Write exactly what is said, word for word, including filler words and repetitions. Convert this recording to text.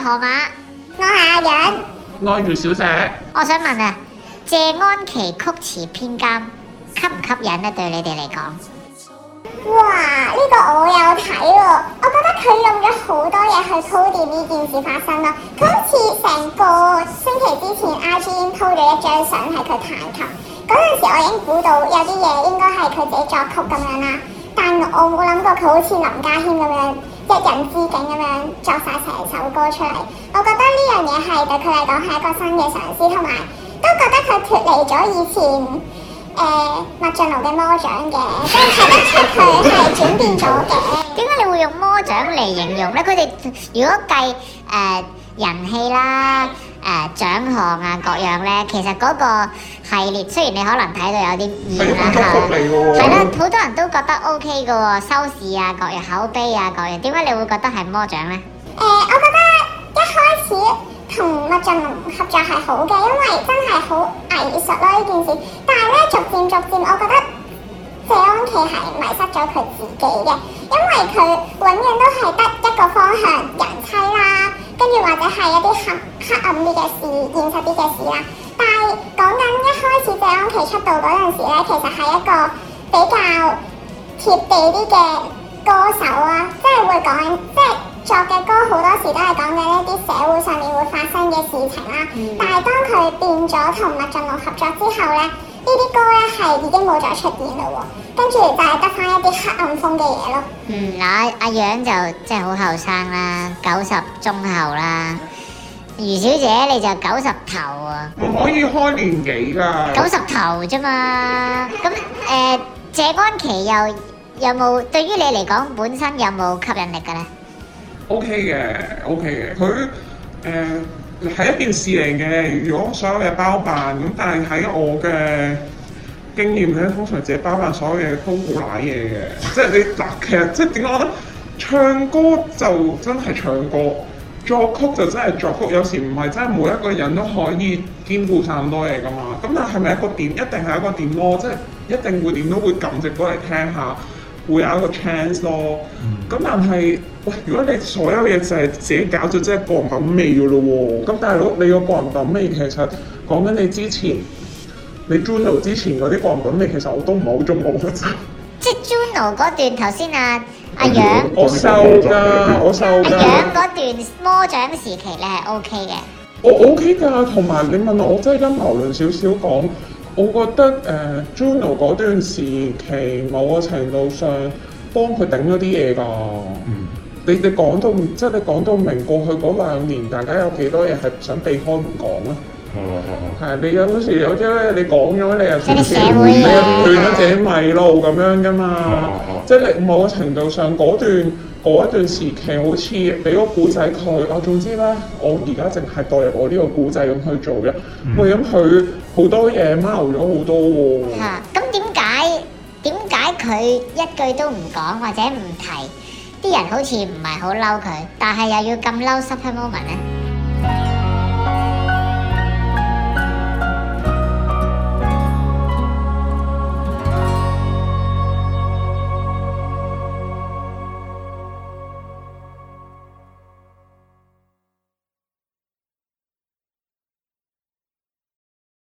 河馬， 我係阿楊。 愛如小姐， 我想問啊，謝安琪曲詞編監吸唔吸引咧？對你哋嚟講？ 哇！呢、這個我有睇喎，我覺得佢用咗好多嘢去鋪墊呢件事發生咯。佢好似成個星期之前 I G 已經 po 咗一張相係佢彈琴，嗰陣時我已經估到有啲嘢應該係佢自己作曲咁樣啦，但我冇諗過佢好似林家謙咁樣一人之境咁樣作晒成首歌出嚟。我覺得呢樣嘢係對佢嚟講係一個新嘅嘗試，同埋都覺得佢脫離咗以前誒麥浚龍嘅魔掌嘅，即係睇得出佢係轉變咗嘅。 點解你會用魔掌嚟形容咧？佢哋如果計誒、呃、人氣啦、誒、呃、獎項啊各樣咧，其實嗰個系列雖然你可能睇到有啲厭啦嚇，係啦，好多人都覺得 O K 嘅喎，收視啊各樣口碑啊各樣，點解你會覺得係魔掌咧？ 誒、呃，我覺得一開始同麥浚龍合作係好嘅，因為真係好藝術咯呢件事。但係咧，逐漸逐漸，我覺得謝安琪係迷失咗佢自己嘅，因為佢永遠都係得一個方向，人妻啦，跟住或者係一啲黑黑暗啲嘅事、現實啲嘅事啦。但係講緊一開始謝安琪出道嗰陣時咧，其實係一個比較貼地啲嘅歌手啊，即係會講即係。作嘅歌好多時都係講緊一啲社會上面會發生嘅事情啦，嗯、但係當佢變咗同麥浚龍合作之後咧，呢啲歌咧係已經冇再出現嘞喎，跟住就係得翻一啲黑暗風嘅嘢咯。 嗯，嗱阿楊就即係好後生啦，九十中後啦，余小姐你就九十頭啊， 唔可以開年紀㗎， 九十頭啫嘛。咁誒、呃、謝安琪又有冇對於你嚟講本身有冇吸引力嘅咧？ O K 嘅 ，O K 嘅，佢誒係一件事嚟嘅。如果所有嘢包辦咁，但係喺我嘅經驗咧，通常自己包辦所有嘢都好賴嘢嘅。即係你嗱，其實即係點講咧？唱歌就真係唱歌，作曲就真係作曲。有時唔係真係每一個人都可以兼顧晒咁多嘢噶嘛。咁但係咪一個點？一定係一個點咯。即係一定會點都會撳隻歌嚟聽下。會有一個 chance 咯，咁、嗯、但係喂，如果你所有嘢就係自己搞咗，即係個人品味嘅咯喎，咁大佬你個個人品味其實講緊你之前，你 Juno 之前嗰啲個人品味其實我都唔係好中意嘅啫。 即係 Juno 嗰段頭先啊，阿楊我收㗎，我收㗎。 阿楊嗰段魔掌時期你係 OK 嘅。 我 OK 㗎，同埋你問我，我真係陰謀論少少講。我覺得誒、呃、Juno 嗰段時期某個程度上幫佢頂咗啲嘢㗎。嗯，你你講到即係你講到明過去嗰兩年，大家有幾多嘢係想避開唔講咧？係係係。係你有嗰時有啲咧，你講咗你又少少，你又斷咗自己迷路咁樣㗎嘛。即係你某個程度上嗰段。嗰一段時期好似俾個古仔佢，我總之咧，我而家淨係代入我呢個古仔咁去做嘅。喂、嗯，咁佢好多嘢貓咗好多喎。嚇！ 咁點解點解佢一句都唔講或者唔提，啲人好似唔係好嬲佢，但係又要咁嬲 Super Moment 咧？